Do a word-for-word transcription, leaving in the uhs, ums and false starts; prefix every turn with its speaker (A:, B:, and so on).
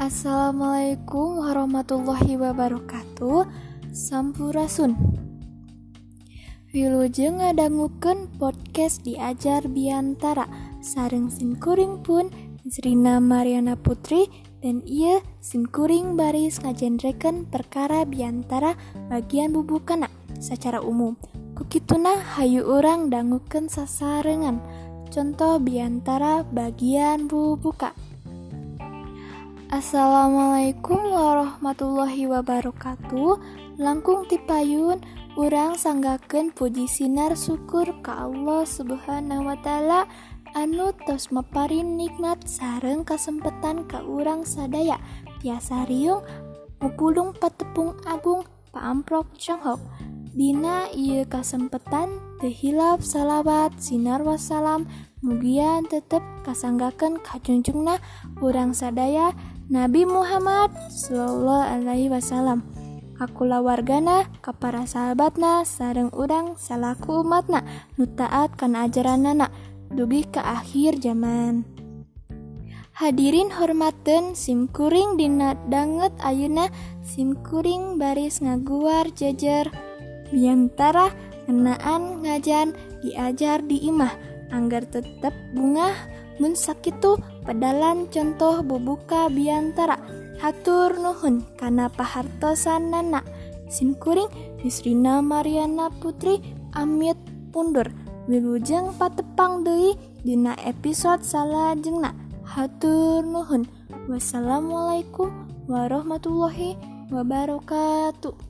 A: Assalamualaikum warahmatullahi wabarakatuh. Sampurasun. Wilujeng ngadangukeun podcast Diajar Biantara sareng simkuring pun Zrina Mariana Putri dan ieu simkuring baris ngajenrekeun perkara biantara bagian bubukana secara umum. Kukituna hayu urang dangukeun sasarengan contoh biantara bagian bubuka. Assalamualaikum warahmatullahi wabarakatuh. Langkung tipayun urang sanggakeun puji sinar syukur ka Allah Subhanahu wa taala anu tos maparin nikmat sareng kasempetan ka urang sadaya tiasa riung mupulung patepung agung paamprok Tionghoa. Dina ieu kasempetan teu hilap salawat sinar wassalam mugian tetep kasanggakeun ka junjungna urang sadaya Nabi Muhammad sallallahu alaihi wasallam, kakula wargana, ka para sahabatna, sareng urang salaku umatna nu taat kana ajaranana dugi ka akhir zaman. Hadirin hormateun simkuring dina danget ayeuna simkuring baris ngaguar jejer biantara ngenaan ngajan diajar di imah anggar tetep bungah mun sakitu pedalan contoh bubuka biantara. Hatur nuhun kana pahartosanana. Simkuring Zrina Mariana Putri amit undur. Wilujeng patepang deui dina episode salajengna. Hatur nuhun. Wassalamualaikum warahmatullahi wabarakatuh.